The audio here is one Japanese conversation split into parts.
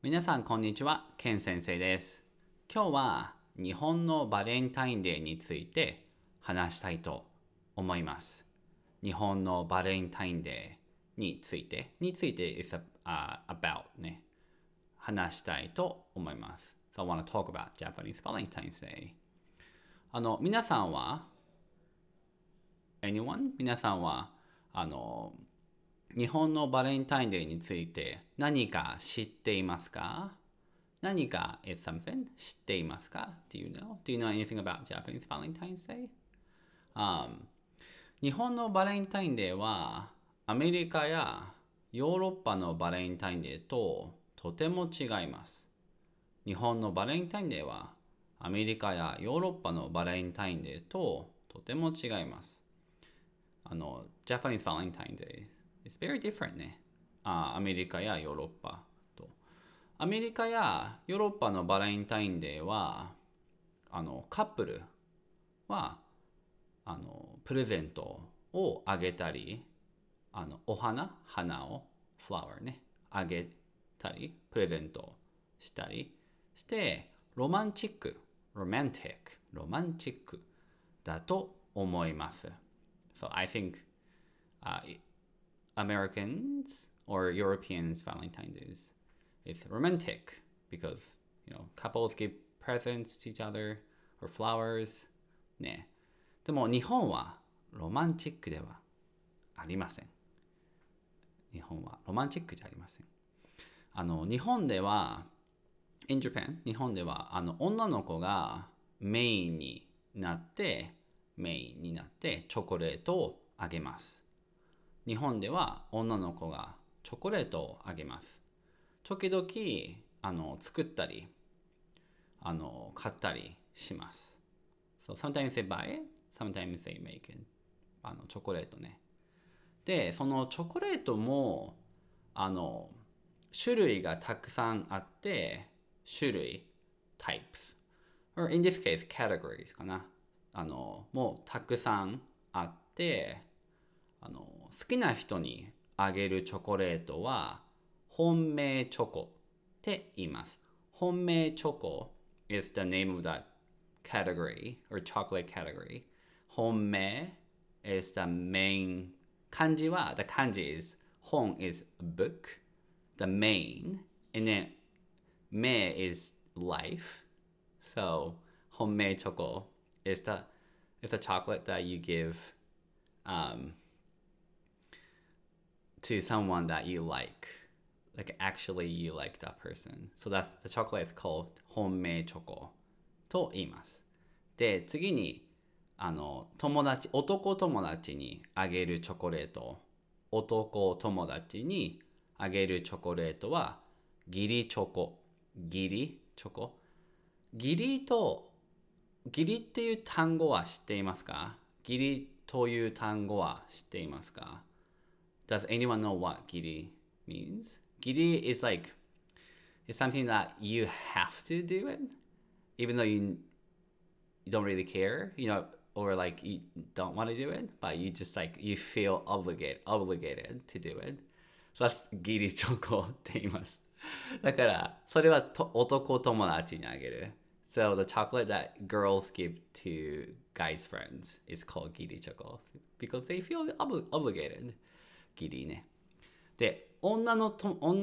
皆さんこんにちは、ケン先生です。今日は日本のバレンタインデーについて話したいと思います。日本のバレンタインデーについて is about ね、話したいと思います。So I want to talk about Japanese Valentine's Day. 皆さんは 皆さんは日本のバレンタインデーについて何か知っていますか？何か is something 知っていますか？ Do you know? Do you know anything about Japanese Valentine's Day? 日本のバレンタインデーはアメリカやヨーロッパのバレンタインデーととても違います。日本のバレンタインデーはアメリカやヨーロッパのバレンタインデーととても違います。Japanese Valentine's Day is very different ね。アメリカやヨーロッパと。アメリカやヨーロッパのバレンタインデーは、カップルは、プレゼントをあげたり、花を、フラワーね、あげたり、プレゼントしたりして、ロマンチックだと思います。So I think Americans or Europeans Valentine's Day is romantic because couples give presents to each other or flowers ね。でも日本はロマンチックではありません。日本はロマンチックじゃありません。日本では in Japan 日本では女の子がメインになってチョコレートをあげます。日本では女の子がチョコレートをあげます。時々作ったり買ったりします。So sometimes they buy it, sometimes they make it. チョコレートね。で、そのチョコレートも種類がたくさんあって、types, or in this case categories かな。もうたくさんあって、好きな人にあげるチョコレートは本命チョコって言います。本命チョコ is the name of that category or chocolate category. 本命 is the main the kanji is 本 is a book, the main, and then 命 is life. So 本命チョコ is the chocolate that you give to someone that you like actually you like that person. So that's the chocolate is called 本命チョコと言います。で、次に男友達にあげるチョコレート、男友達にあげるチョコレートは義理チョコ。義理っていう単語は知っていますか？義理という単語は知っていますか？ Does anyone know what 義理 means? 義理 is it's something that you have to do it, even though you don't really care, or you don't want to do it, but you just you feel obligated to do it. So that's 義理チョコって言います。だから、それは男友達にあげる。So the chocolate that girls give to guys' friends is called 義理チョコ because they feel obligated. 義理ね。で、女の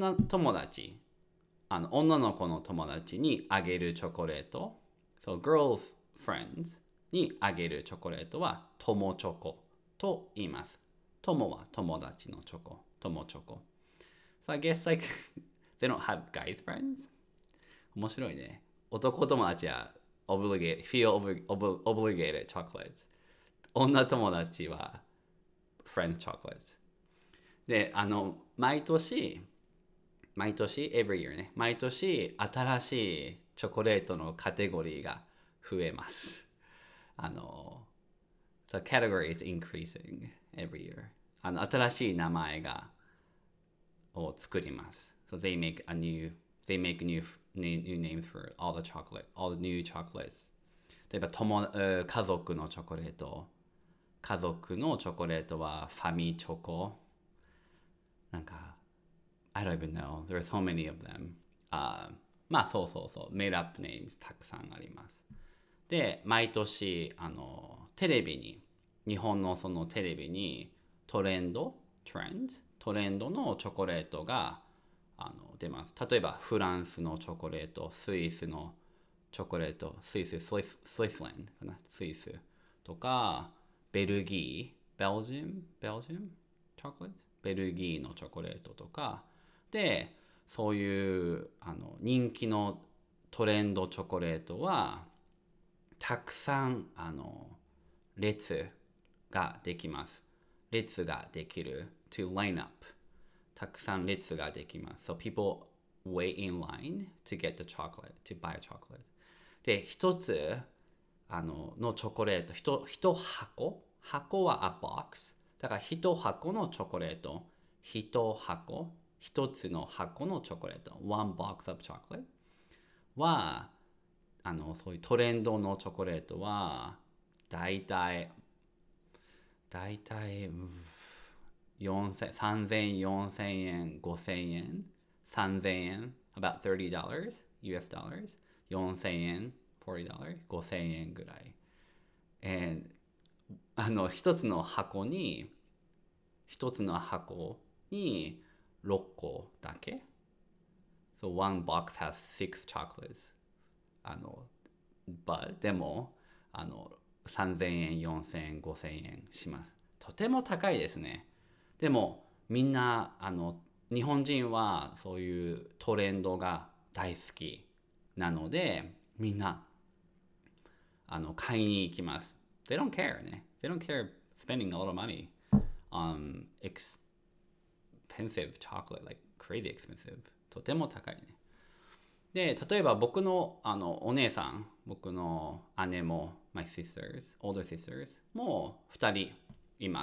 子の友達にあげるチョコレート。So girls' friends にあげるチョコレートは友チョコと言います。友は友達のチョコ。友チョコ。So I guess they don't have guys' friends? 面白いね。男友達はfeel obligated chocolates. 女友達は friends chocolates. で、毎年 every year ね。毎年新しいチョコレートのカテゴリーが増えます。the category is increasing every year. 新しい名前を作ります。So they make new names for all the new chocolates. 例えば家族のチョコレートはファミチョコ。I don't even know. There are so many of them. まあそうメイドアップネームズたくさんあります。で毎年テレビに日本のそのテレビにトレンドのチョコレートが出ます。例えばフランスのチョコレート、スイスのチョコレート、スイスランドかな、スイスとかベルギー、ベルジウムチョコレート、ベルギーのチョコレートとかで、そういう人気のトレンドチョコレートはたくさん列ができます。列ができる to line up、 たくさん列ができます。So people wait in line to get the chocolate, to buy a chocolate。 で一つのチョコレート、一箱は a box だから一箱のチョコレート、一つの箱のチョコレート one box of chocolate はそういうトレンドのチョコレートはだいたい3000、4000円、5000円、3000円 about $30 US dollars、 4000円 $40、 5000円ぐらい。一つの箱に6個だけ。 So one box has 6 chocolates。でも3000円、4000円、5000円します。とても高いですね。でもみんな日本人はそういうトレンドが大好きなので、みんな買いに行きます。They don't care ね。They don't care spending a lot of money on expensive chocolate, like crazy expensive。とても高いね。で、例えば僕のお姉さん、僕の姉も、my sisters, older sisters も2人います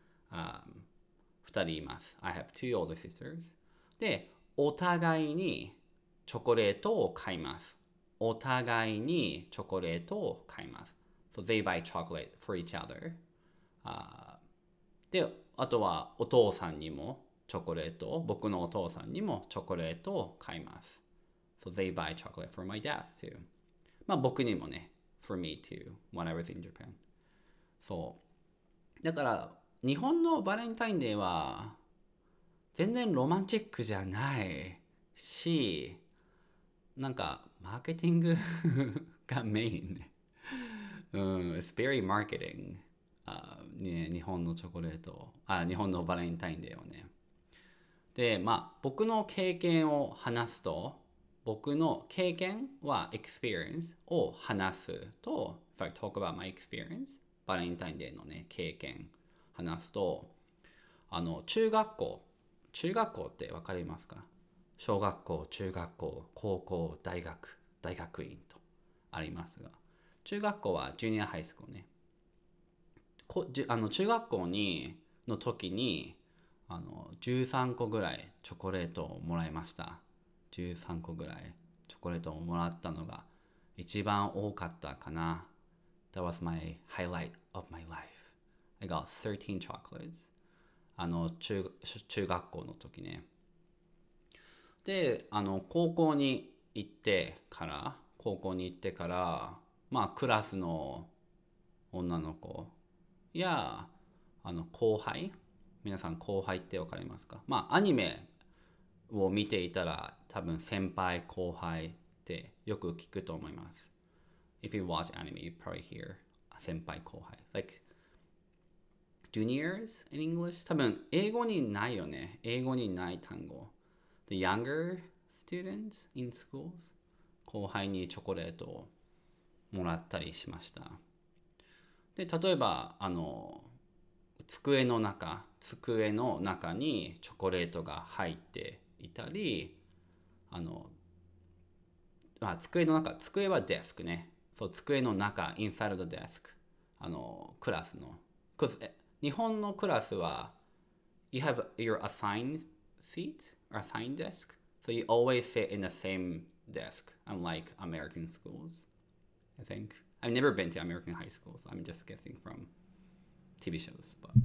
。2人います。I have two older sisters。で、お互いにチョコレートを買います。お互いにチョコレートを買います。So they buy chocolate for each other。で、あとはお父さんにもチョコレートを、僕のお父さんにもチョコレートを買います。So they buy chocolate for my dad too。まあ僕にもね、for me too, when I was in Japan。そう。だから日本のバレンタインデーは全然ロマンチックじゃないし、なんかマーケティングがメインね。It's very marketing。ね、日本のチョコレート、日本のバレンタインデーをね。で、まあ僕の経験を話すと、僕の経験は experience を話すと、if I talk about my experience、バレンタインデーのね、経験話すと、中学校ってわかりますか？小学校、中学校、高校、大学院とありますが、中学校はジュニアハイスクールね。中学校の時に13個ぐらいチョコレートをもらいました。13個ぐらいチョコレートをもらったのが一番多かったかな。That was my highlight of my life. I got 13 chocolates。中学校の時ね。で、高校に行ってから、まあクラスの女の子や後輩、皆さん後輩ってわかりますか？まあアニメを見ていたら多分先輩後輩ってよく聞くと思います。If you watch anime, you probably hear 先輩後輩。Like juniors in English? 多分英語にないよね。英語にない単語。The younger students in schools? 後輩にチョコレートをもらったりしました。で、例えば机の中にチョコレートが入っていたり、机はデスクね。そう、机の中、inside the desk。クラスの。日本のクラスは、you have your assigned seat or assigned desk. So you always sit in the same desk, unlike American schools, I think. I've never been to American high schools. I'm just guessing from TV shows. But...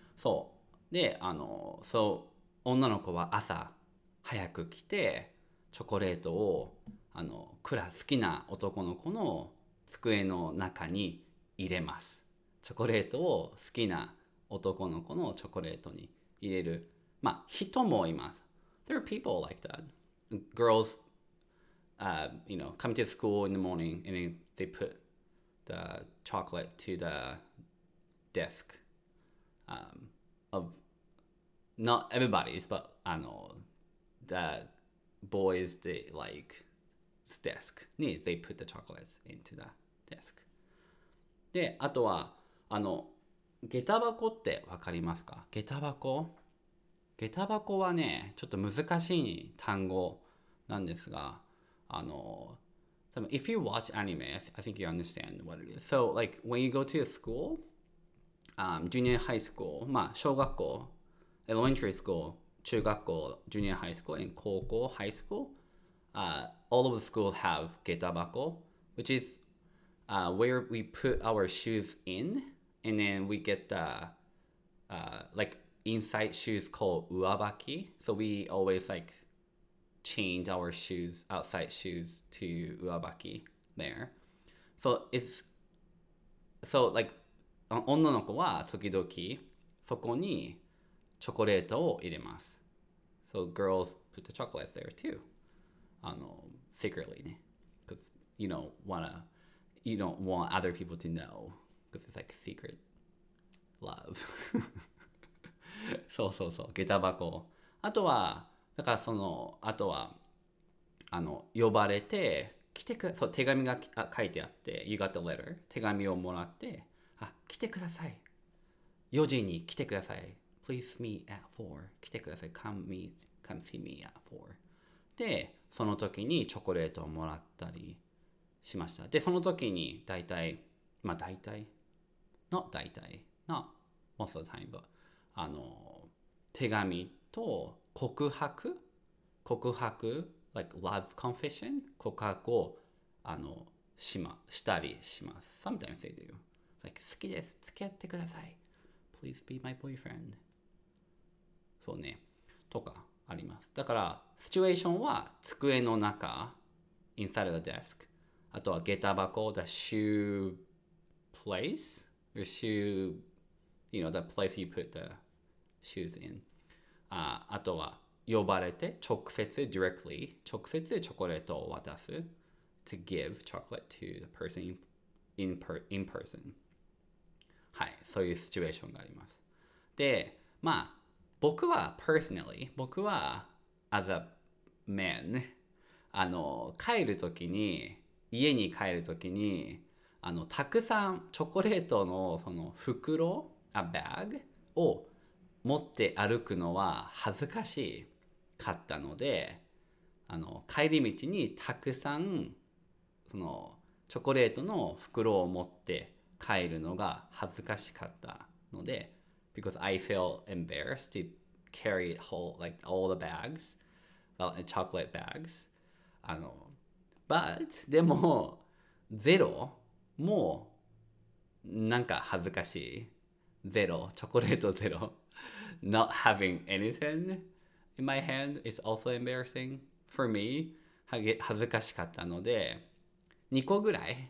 そう。で、女の子は朝早く来て、 チョコレートを好きな男の子の机の中に入れます。チョコレートを好きな男の子のチョコレートに入れる。まあ、人もいます。There are people like that. Girls, come to school in the morning and then they put the chocolate to the desk of not everybody's, but the boys they like desk に they put the chocolates into the desk で、あとは下駄箱ってわかりますか？下駄箱はね、ちょっと難しい単語なんですが、多分 if you watch anime, I think you understand what it is. So like when you go to a school, junior high school, まあ小学校 elementary school, 中学校 junior high school, and 高校 high school, all of the schools have getabako, which is where we put our shoes in, and then we get the like inside shoes called uabaki. So we always like change our shoes, outside shoes to uabaki there. So it's like 女の子は時々そこにチョコレートを入れます。So girls put the chocolates there too. Secretly ね。Because you don't want other people to know. Because it's like secret love. そうそうそう。下駄箱。あとは、だからあとは、呼ばれて、そう、手紙が書いてあって、You got the letter. 手紙をもらって、来てください。4時に来てください。Please meet at 4. 来てください。Come see me at 4. で、その時にチョコレートをもらったりしました。で、その時に大体、not most of the time, but 手紙と告白 like love confession 告白をしたりします。Sometimes they do. Like 好きです。付き合ってください。Please be my boyfriend. そうね。とかあります。だから、シチュエーションは机の中、inside of the desk。あとは下駄箱、the shoe place, your shoe, the place you put the shoes in。あとは呼ばれて、直接チョコレートを渡す。to give chocolate to the person in person。はい、そういうシチュエーションがあります。で、まあ、僕は as a man 家に帰るときにたくさんチョコレートのその袋バッグを持って歩くのは恥ずかしかったので帰り道にたくさんそのチョコレートの袋を持って帰るのが恥ずかしかったのでbecause I feel embarrassed to carry like all the bags, chocolate bags. But でもゼロもなんか恥ずかしい。チョコレートゼロ。Not having anything in my hand is also embarrassing for me. 恥ずかしかったので、2個ぐらい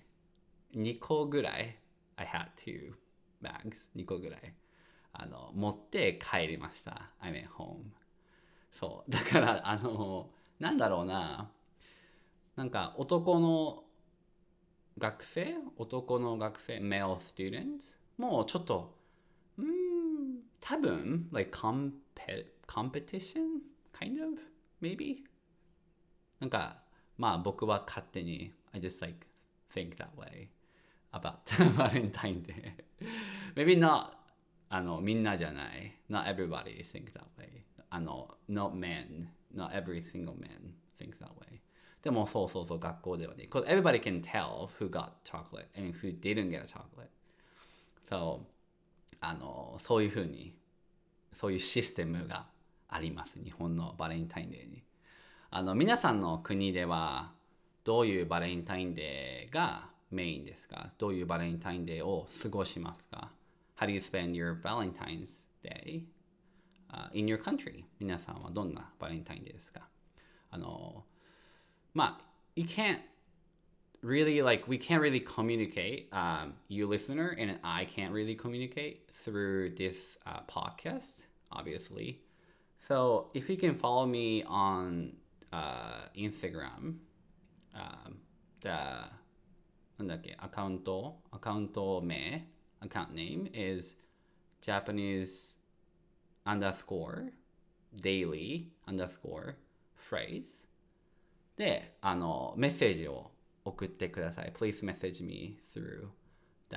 I had two bags. 2個ぐらい。持って帰りました。I went home. そう。だから、なんだろうな。なんか、男の学生 male students もうちょっと、多分、like competition? Kind of? Maybe? なんか、まあ僕は勝手に、I just like think that way about Valentine's Day. Maybe notみんなじゃない。Not everybody thinks that way. Not every single man thinks that way. でもそう、学校ではね。Because everybody can tell who got chocolate and who didn't get a chocolate. So, そういうふうに、そういうシステムがあります。日本のバレンタインデーに。皆さんの国では、どういうバレンタインデーがメインですか？どういうバレンタインデーを過ごしますか？How do you spend your Valentine's Day、in your country? 皆さんはどんなバレンタインデーですか？ まあ you can't really like we can't really communicate you listener and I can't really communicate through this podcast obviously. So if you can follow me on Instagram, the なんだっけアカウント名account name is Japanese underscore daily underscore phrase でメッセージを送ってください。Please message me through the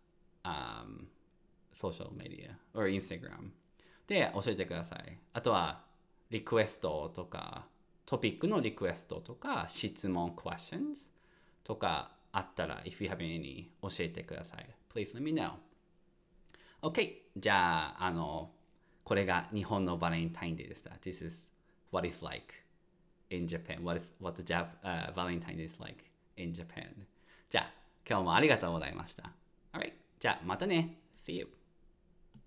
social media or Instagram で教えてください。あとはリクエストとかトピックのリクエストとか質問 questions とかあったら if you have any 教えてください。Please let me know. OK じゃあこれが日本のバレンタインデーでした。This is what it's like in Japan. What the Valentine is like in Japan. じゃあ今日もありがとうございました。Alright じゃあまたね。See you.